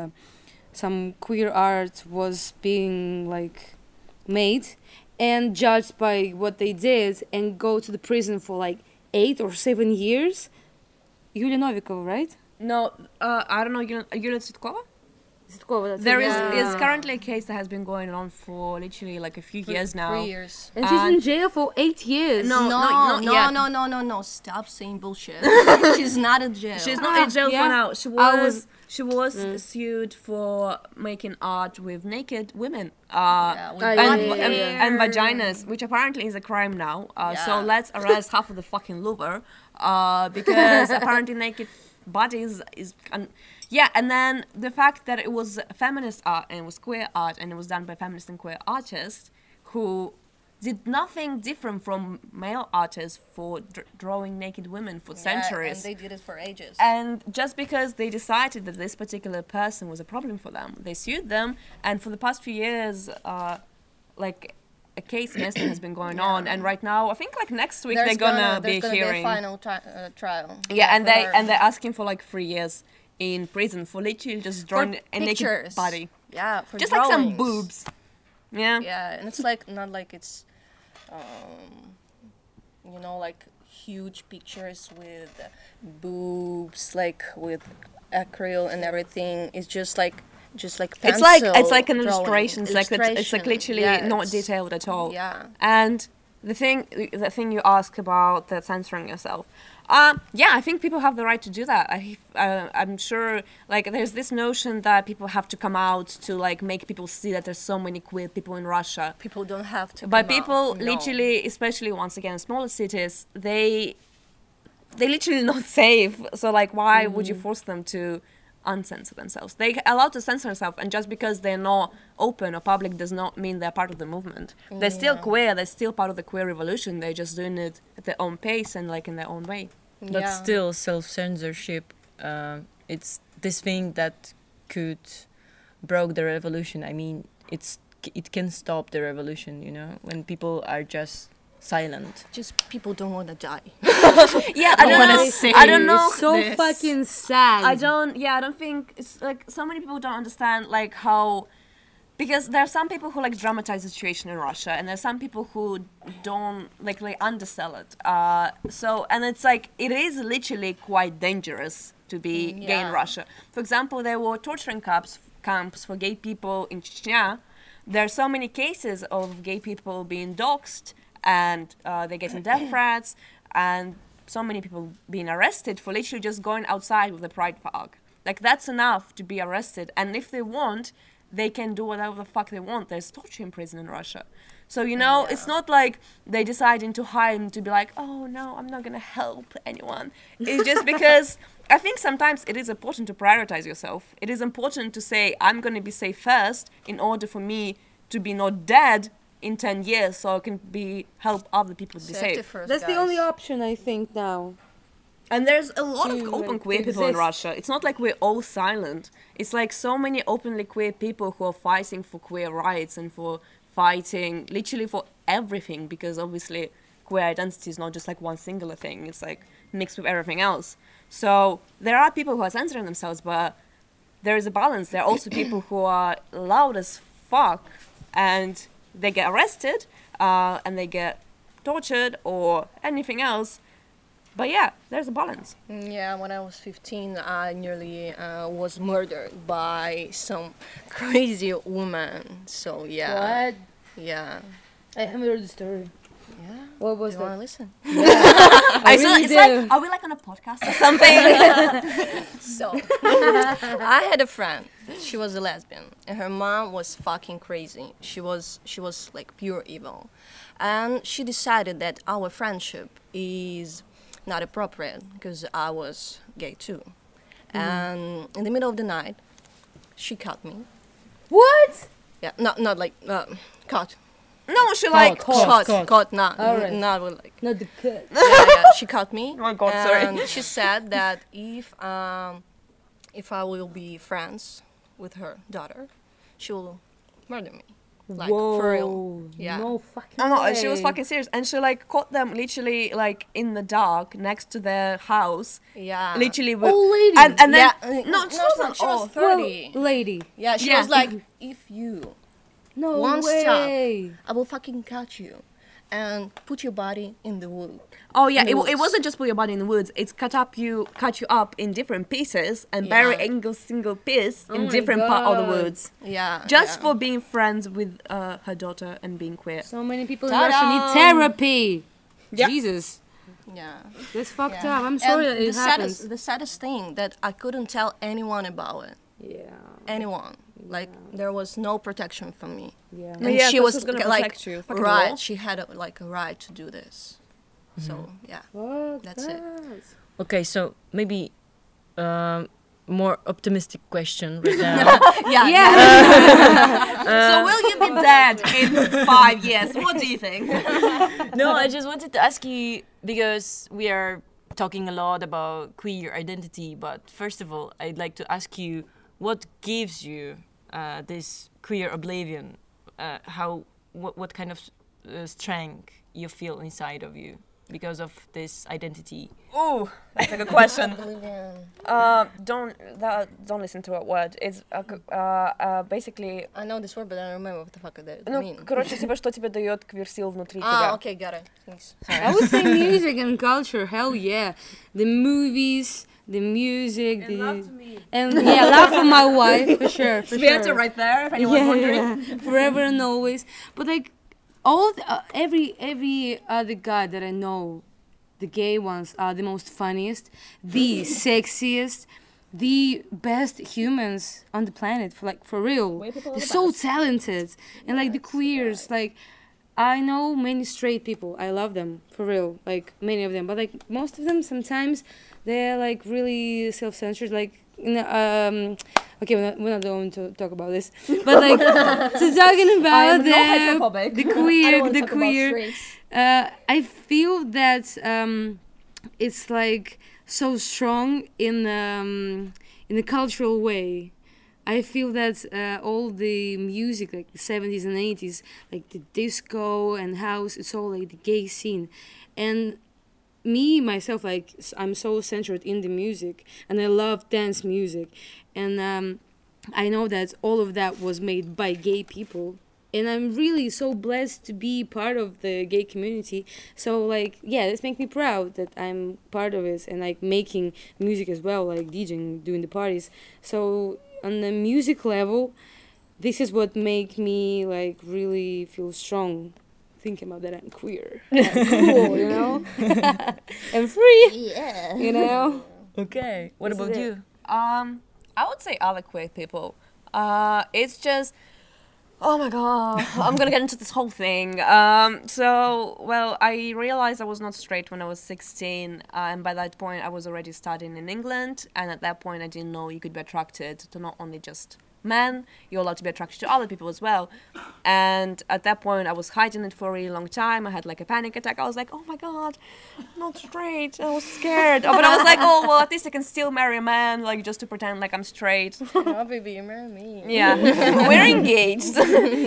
Speaker 2: some queer art was being like made and judged by what they did and go to the prison for like 8 or 7 years. Yulia Novikova, right?
Speaker 3: No, I don't know. Yulia Tsvetkova?
Speaker 2: Zitkova,
Speaker 3: There is
Speaker 2: yeah.
Speaker 3: currently a case that has been going on for literally like a few years now.
Speaker 4: 3 years.
Speaker 2: And she's in jail for 8 years.
Speaker 3: No,
Speaker 4: No,
Speaker 3: not
Speaker 4: no,
Speaker 3: yet.
Speaker 4: no. Stop saying bullshit. She's not in jail.
Speaker 3: She's not in jail
Speaker 2: yeah.
Speaker 3: for now. She was
Speaker 2: Mm.
Speaker 3: sued for making art with naked women.
Speaker 4: Yeah, with
Speaker 2: and-
Speaker 4: body
Speaker 2: and-
Speaker 4: hair.
Speaker 3: And vaginas, which apparently is a crime now. So
Speaker 4: Yeah.
Speaker 3: let's arrest half of the fucking Louvre, because apparently naked bodies is. Yeah, and then the fact that it was feminist art and it was queer art and it was done by feminist and queer artists who did nothing different from male artists for drawing naked women for centuries.
Speaker 4: And they did it for ages.
Speaker 3: And just because they decided that this particular person was a problem for them, they sued them. And for the past few years, like a case against them has been going on. And right now, I think like next week
Speaker 4: There's
Speaker 3: they're gonna be
Speaker 4: there's
Speaker 3: hearing.
Speaker 4: Be a final trial.
Speaker 3: Yeah, and
Speaker 4: for her.
Speaker 3: they're asking for like 3 years in prison for literally just drawing a naked
Speaker 4: pictures.
Speaker 3: body,
Speaker 4: Yeah, for
Speaker 3: just like some
Speaker 4: drawings.
Speaker 3: boobs. Yeah.
Speaker 4: Yeah, and it's like not like it's, you know, like huge pictures with boobs, like with acrylic and everything. It's just like pencil
Speaker 6: It's like an
Speaker 4: drawing.
Speaker 6: illustration. It's like
Speaker 4: Illustration.
Speaker 6: literally
Speaker 4: Yeah,
Speaker 6: not
Speaker 4: it's-
Speaker 6: detailed at all.
Speaker 4: Yeah.
Speaker 6: And the thing you ask about the censoring yourself, yeah, I think people have the right to do that. I'm sure, like, there's this notion that people have to come out to like make people see that there's so many queer people in Russia.
Speaker 4: People don't have to.
Speaker 6: But
Speaker 4: come
Speaker 6: people
Speaker 4: out. No.
Speaker 6: literally, especially once again, smaller cities, they literally not safe. So like, why would you force them to uncensor themselves? They're allowed to censor themselves, and just because they're not open or public does not mean they're part of the movement. They're still queer. They're still part of the queer revolution. They're just doing it at their own pace and like in their own way.
Speaker 1: But
Speaker 4: Yeah.
Speaker 1: still, self-censorship, it's this thing that could broke the revolution. I mean, it can stop the revolution, you know, when people are just silent.
Speaker 4: Just people don't want to die.
Speaker 6: Yeah, I don't
Speaker 1: wanna
Speaker 6: know.
Speaker 1: say
Speaker 6: I don't know.
Speaker 2: It's so
Speaker 1: this.
Speaker 2: fucking sad.
Speaker 6: I don't think it's like so many people don't understand like how, because there are some people who like dramatize the situation in Russia, and there's some people who don't like undersell it. So and it's like it is literally quite dangerous to be gay in
Speaker 4: Yeah.
Speaker 6: Russia. For example, there were torturing camps for gay people in Chechnya. There are so many cases of gay people being doxxed, and they're getting death threats, and so many people being arrested for literally just going outside with a pride flag. Like, that's enough to be arrested. And if they want, they can do whatever the fuck they want. There's torture in prison in Russia. So, you know, it's not like they deciding to hide and to be like, oh, no, I'm not going to help anyone. It's just because I think sometimes it is important to prioritize yourself. It is important to say, I'm going to be safe first in order for me to be not dead in 10 years so I can help other people to be
Speaker 4: Safety
Speaker 6: safe.
Speaker 4: first,
Speaker 2: That's the
Speaker 4: guys.
Speaker 2: only option, I think, now.
Speaker 6: And there's a lot of
Speaker 2: To,
Speaker 6: open
Speaker 2: like,
Speaker 6: queer people in
Speaker 2: exist.
Speaker 6: Russia. It's not like we're all silent. It's like so many openly queer people who are fighting for queer rights and for fighting literally for everything, because obviously queer identity is not just like one singular thing. It's like mixed with everything else. So there are people who are censoring themselves, but there is a balance. There are also people who are loud as fuck and they get arrested and they get tortured or anything else. But yeah, there's a balance.
Speaker 4: Yeah, when I was 15, I nearly was murdered by some crazy woman. So yeah,
Speaker 2: What?
Speaker 4: yeah,
Speaker 2: I haven't heard the story.
Speaker 4: yeah.
Speaker 2: What was
Speaker 4: Do you want to
Speaker 2: that?
Speaker 4: listen?
Speaker 6: I
Speaker 2: really
Speaker 6: it's
Speaker 2: do.
Speaker 6: like, are we like on a podcast or something?
Speaker 4: So I had a friend. She was a lesbian, and her mom was fucking crazy. She was like pure evil, and she decided that our friendship is not appropriate because I was gay too. And in the middle of the night, she cut me.
Speaker 2: What?
Speaker 4: Yeah, not like cut.
Speaker 6: No, she like
Speaker 4: Cut, not
Speaker 2: Alright.
Speaker 4: not with like.
Speaker 2: Not the cut.
Speaker 4: Yeah, she cut me.
Speaker 6: Oh my God, sorry.
Speaker 4: And she said that if I will be friends with her daughter, she will murder me. Like for real. Yeah.
Speaker 2: No fucking
Speaker 6: No,
Speaker 2: way.
Speaker 6: she was fucking serious, and she like caught them literally like in the dark next to their house,
Speaker 4: Yeah.
Speaker 6: literally. With,
Speaker 2: Old lady.
Speaker 6: and then
Speaker 4: Yeah.
Speaker 6: no, she wasn't
Speaker 4: she was
Speaker 6: old.
Speaker 4: 30.
Speaker 2: Well, lady.
Speaker 4: Yeah, she
Speaker 6: Yeah.
Speaker 4: was like, if you,
Speaker 2: No
Speaker 4: One
Speaker 2: way.
Speaker 4: I will fucking cut you and put your body in the wood.
Speaker 6: Oh yeah, it
Speaker 4: woods.
Speaker 6: wasn't just put your body in the woods. It's cut you up in different pieces and bury
Speaker 4: Yeah.
Speaker 6: every single piece
Speaker 2: Oh
Speaker 6: in
Speaker 2: my
Speaker 6: different part of the
Speaker 2: God.
Speaker 6: woods,
Speaker 4: Yeah.
Speaker 6: just
Speaker 4: yeah.
Speaker 6: for being friends with her daughter and being queer.
Speaker 2: So many people in
Speaker 4: Ta-da!
Speaker 2: Russia need therapy.
Speaker 6: Yeah.
Speaker 2: Jesus.
Speaker 4: Yeah.
Speaker 2: That's fucked
Speaker 4: Yeah.
Speaker 2: up. I'm sorry
Speaker 4: And
Speaker 2: that it happens.
Speaker 4: the saddest thing that I couldn't tell anyone about it.
Speaker 2: Yeah.
Speaker 4: Anyone. Like there was no protection from me.
Speaker 2: Yeah.
Speaker 6: Yeah,
Speaker 4: And
Speaker 6: 'cause
Speaker 4: she was
Speaker 6: who's gonna
Speaker 4: like
Speaker 6: protect you? Fucking
Speaker 4: right.
Speaker 6: law?
Speaker 4: She had like a right to do this. So yeah.
Speaker 2: Fuck
Speaker 4: That's it.
Speaker 2: that.
Speaker 1: Okay, so maybe more optimistic question right now.
Speaker 6: So will you be dead in 5 years? What do you think?
Speaker 1: No, I just wanted to ask you, because we are talking a lot about queer identity, but first of all, I'd like to ask you, what gives you this queer oblivion? What kind of strength you feel inside of you? because of this identity?
Speaker 3: Ooh, that's a good question.
Speaker 4: Bolivian.
Speaker 3: Don't listen to a word. It's basically.
Speaker 4: I know this word, but I don't remember what the fuck it
Speaker 3: Ну,
Speaker 4: means.
Speaker 3: короче, типа, что тебе дает квир-сил внутри тебя.
Speaker 4: Okay, got it. Thanks.
Speaker 2: I would say music and culture. Hell yeah, the movies, the music, and yeah, love for my wife for sure. For sure.
Speaker 6: right there, if anyone's wondering.
Speaker 2: Yeah, forever and always. But like every other guy that I know, the gay ones are the most funniest, the sexiest, the best humans on the planet. For real, they're so talented, and like the queers, like. I know many straight people. I love them, for real, like many of them. But like most of them, sometimes they're like really self-censored. Like, okay, we're not going to talk about this. But like, so talking about the queer. I feel that it's like so strong in the cultural way. I feel that all the music, like the 70s and 80s, like the disco and house, it's all like the gay scene. And me, myself, like, I'm so centered in the music, and I love dance music. And I know that all of that was made by gay people. And I'm really so blessed to be part of the gay community. So, like, yeah, this makes me proud that I'm part of it and, like, making music as well, like DJing, doing the parties. So on the music level, this is what make me like really feel strong thinking about that I'm queer. I'm cool, you know? I'm free.
Speaker 4: Yeah.
Speaker 2: You know?
Speaker 1: Okay. What
Speaker 2: This is
Speaker 1: about
Speaker 2: it.
Speaker 1: you?
Speaker 6: I would say other queer people. It's just, oh my god, I'm gonna get into this whole thing. Well, I realized I was not straight when I was 16, and by that point I was already studying in England, and at that point I didn't know you could be attracted to not only just men, you're allowed to be attracted to other people as well. And at that point I was hiding it for a really long time. I had like a panic attack. I was like, oh my god, I'm not straight. I was scared. But I was like, oh well, at least I can still marry a man, like just to pretend like I'm straight.
Speaker 4: Oh, baby, you marry me.
Speaker 6: Yeah, we're engaged.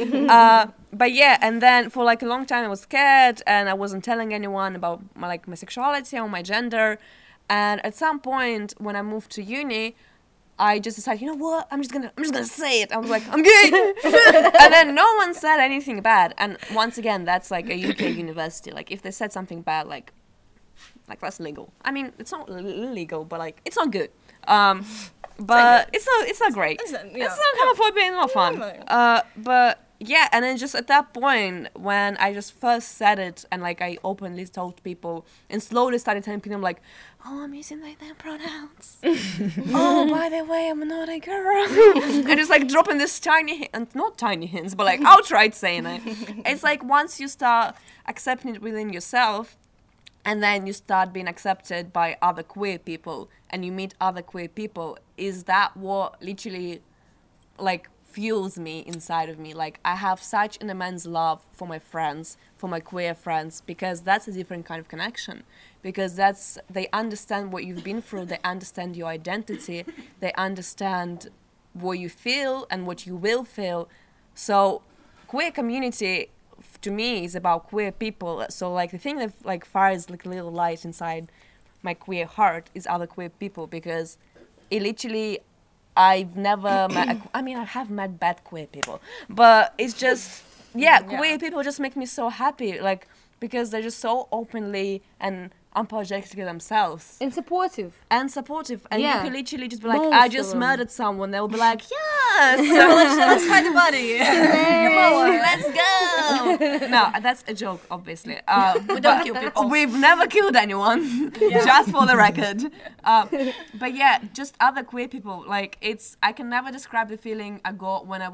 Speaker 6: But yeah, and then for like a long time I was scared and I wasn't telling anyone about my sexuality or my gender. And at some point when I moved to uni, I just decided, you know what, I'm just gonna say it. I was like, I'm gay. And then no one said anything bad. And once again, that's like a UK university. Like if they said something bad, like that's legal. I mean, it's not illegal, but like it's not good. But it's not great. It's not homophobia, not fun. But yeah, and then just at that point when I just first said it and like I openly told people and slowly started telling people like, oh, I'm using like their pronouns. Oh, by the way, I'm not a girl. And just like dropping this not tiny hints, but like outright saying it. It's like once you start accepting it within yourself, and then you start being accepted by other queer people, and you meet other queer people, is that what literally like fuels me inside of me. Like I have such an immense love for my friends, for my queer friends, because that's a different kind of connection. Because they understand what you've been through, they understand your identity, they understand what you feel and what you will feel. So queer community to me is about queer people. So like the thing that like fires like a little light inside my queer heart is other queer people, because it literally, I've never met, I mean I have met bad queer people, but it's just, queer people just make me so happy, like because they're just so openly and unapologetically themselves.
Speaker 2: And supportive.
Speaker 6: And you can literally just be like,
Speaker 2: Most
Speaker 6: I
Speaker 2: of
Speaker 6: just
Speaker 2: them.
Speaker 6: murdered someone. They'll be like, yes, let's fight the body. Let's go. No, that's a joke, obviously. We don't kill people. We've never killed anyone, just for the record. But yeah, just other queer people. Like I can never describe the feeling I got when I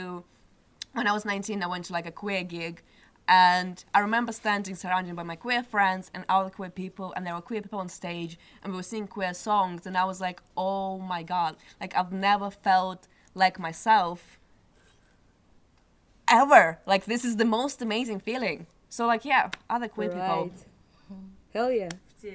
Speaker 6: was 19, I went to like a queer gig. And I remember standing surrounded by my queer friends and other queer people, and there were queer people on stage, and we were singing queer songs, and I was like, oh my god, like I've never felt like myself ever. Like this is the most amazing feeling. So like other queer people.
Speaker 2: Hell yeah.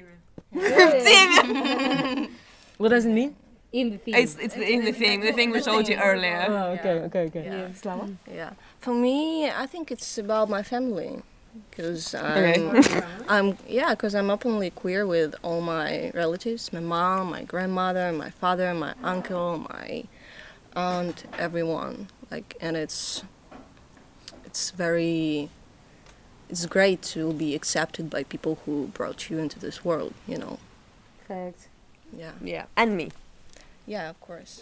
Speaker 1: What does it mean?
Speaker 2: In the theme.
Speaker 6: It's in the thing we showed you earlier.
Speaker 1: Oh, okay.
Speaker 4: Yeah.
Speaker 6: Slava?
Speaker 4: Yeah. For me, I think it's about my family. because
Speaker 6: Okay.
Speaker 4: I'm openly queer with all my relatives, my mom, my grandmother, my father, my uncle, my aunt, everyone. Like, and it's great to be accepted by people who brought you into this world, you know.
Speaker 2: Fact.
Speaker 4: Yeah.
Speaker 6: Yeah, and me.
Speaker 4: Yeah, of course.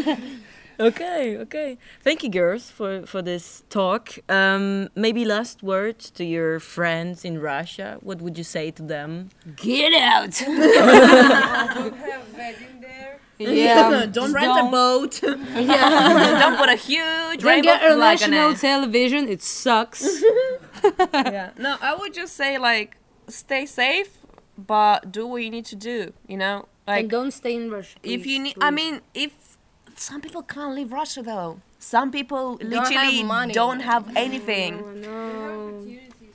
Speaker 1: Okay. Thank you, girls, for this talk. Maybe last words to your friends in Russia. What would you say to them?
Speaker 2: Get out!
Speaker 5: Don't have wedding there.
Speaker 2: Yeah.
Speaker 6: Don't
Speaker 2: just
Speaker 6: rent a boat.
Speaker 2: Yeah.
Speaker 6: Don't put a huge
Speaker 2: Don't
Speaker 6: rainbow
Speaker 2: get
Speaker 6: flag on
Speaker 2: national
Speaker 6: it.
Speaker 2: television. It sucks.
Speaker 6: Yeah. No, I would just say like stay safe, but do what you need to do. You know, like
Speaker 2: And don't stay in Russia.
Speaker 6: if you
Speaker 2: please,
Speaker 6: need. I
Speaker 2: please.
Speaker 6: mean, if some people can't leave Russia though. Some people
Speaker 4: Don't
Speaker 6: literally
Speaker 4: have money.
Speaker 6: don't have anything.
Speaker 2: No.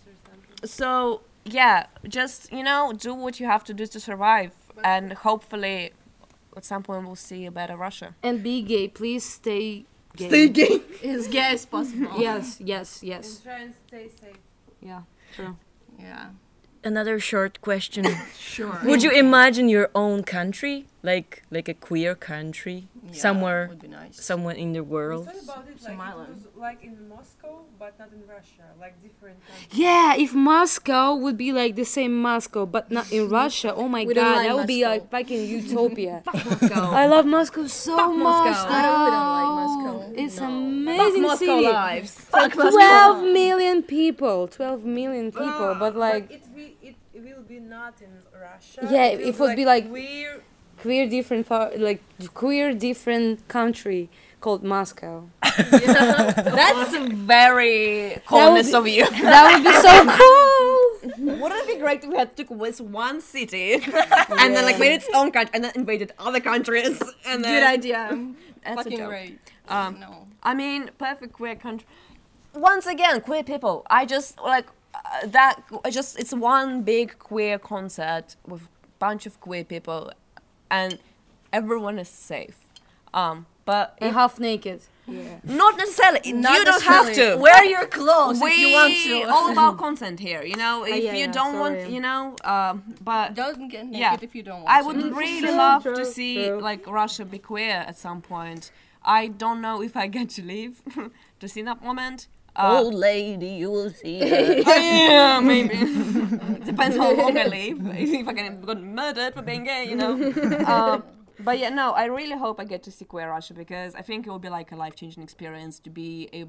Speaker 6: So yeah, just do what you have to do to survive, and hopefully, at some point we'll see a better Russia.
Speaker 2: And be gay. Please stay gay.
Speaker 6: gay.
Speaker 4: As gay as possible.
Speaker 2: Yes.
Speaker 5: And try and stay safe.
Speaker 2: Yeah. True.
Speaker 4: Yeah.
Speaker 1: Another short question.
Speaker 4: Sure.
Speaker 1: Would you imagine your own country, like a queer country, somewhere
Speaker 4: would be nice.
Speaker 1: somewhere in the
Speaker 5: We
Speaker 1: world?
Speaker 5: thought about it
Speaker 4: Some
Speaker 5: like it
Speaker 4: island.
Speaker 5: was like in Moscow, but not in Russia, like different countries.
Speaker 2: Yeah, if Moscow would be like the same Moscow, but not in Russia, oh my
Speaker 4: We don't
Speaker 2: god,
Speaker 4: like
Speaker 2: that would be
Speaker 4: Moscow.
Speaker 2: like fucking utopia.
Speaker 4: Moscow.
Speaker 2: I love Moscow so much.
Speaker 4: Moscow. I don't like
Speaker 2: though.
Speaker 4: Moscow.
Speaker 2: It's
Speaker 4: No.
Speaker 2: amazing
Speaker 6: Moscow
Speaker 2: city.
Speaker 6: lives.
Speaker 2: Like 12 million people. 12 million people, but like
Speaker 5: it will be not in Russia.
Speaker 2: Yeah,
Speaker 5: will
Speaker 2: it would be like-
Speaker 5: weird.
Speaker 2: queer different queer different country called Moscow.
Speaker 6: That's very colonist of you.
Speaker 2: That would be so cool.
Speaker 6: Wouldn't it be great if we had took this one city and then like made its own country and then invaded other countries and then
Speaker 4: Good idea.
Speaker 6: That's a
Speaker 4: Fucking
Speaker 6: joke.
Speaker 4: great. No.
Speaker 6: I mean, perfect queer country. Once again, queer people. I just like that. It's one big queer concert with bunch of queer people, and everyone is safe. But
Speaker 2: And half naked. Yeah.
Speaker 6: not necessarily.
Speaker 4: Not
Speaker 6: you don't have
Speaker 4: necessarily.
Speaker 6: to.
Speaker 4: Wear your clothes
Speaker 6: We
Speaker 4: if you want to.
Speaker 6: all about consent here. You know, if
Speaker 2: yeah,
Speaker 6: you
Speaker 2: yeah,
Speaker 6: don't want,
Speaker 2: sorry.
Speaker 6: but
Speaker 4: Don't get naked
Speaker 6: Yeah.
Speaker 4: if you don't want
Speaker 6: I
Speaker 4: to.
Speaker 6: would really
Speaker 2: True,
Speaker 6: love
Speaker 2: true,
Speaker 6: to see
Speaker 2: true.
Speaker 6: like Russia be queer at some point. I don't know if I get to live to see that moment.
Speaker 1: Old lady, you will see her.
Speaker 6: Yeah, maybe. Depends how long I live. If I get murdered for being gay, you know. But yeah, no, I really hope I get to see queer Russia because I think it will be like a life-changing experience to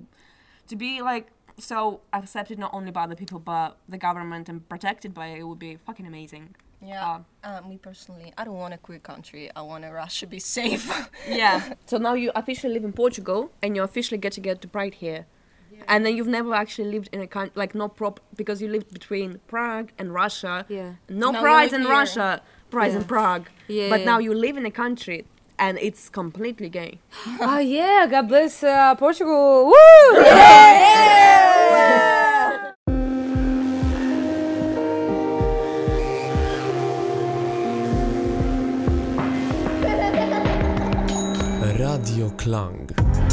Speaker 6: be like so accepted not only by the people but the government and protected by it. It would be fucking amazing.
Speaker 4: Yeah. Me personally, I don't want a queer country. I want Russia be safe.
Speaker 6: Yeah. So now you officially live in Portugal and you officially get to get the Pride here. And then you've never actually lived in a country, like no because you lived between Prague and Russia.
Speaker 2: Yeah.
Speaker 6: No
Speaker 4: Now
Speaker 6: prides
Speaker 4: we
Speaker 6: in
Speaker 4: live here.
Speaker 6: Russia, prides in
Speaker 2: Yeah.
Speaker 6: Prague.
Speaker 2: Yeah,
Speaker 6: But
Speaker 2: yeah.
Speaker 6: now you live in a country and it's completely gay.
Speaker 2: Oh yeah, God bless Portugal. Woo!
Speaker 7: Radio Klang.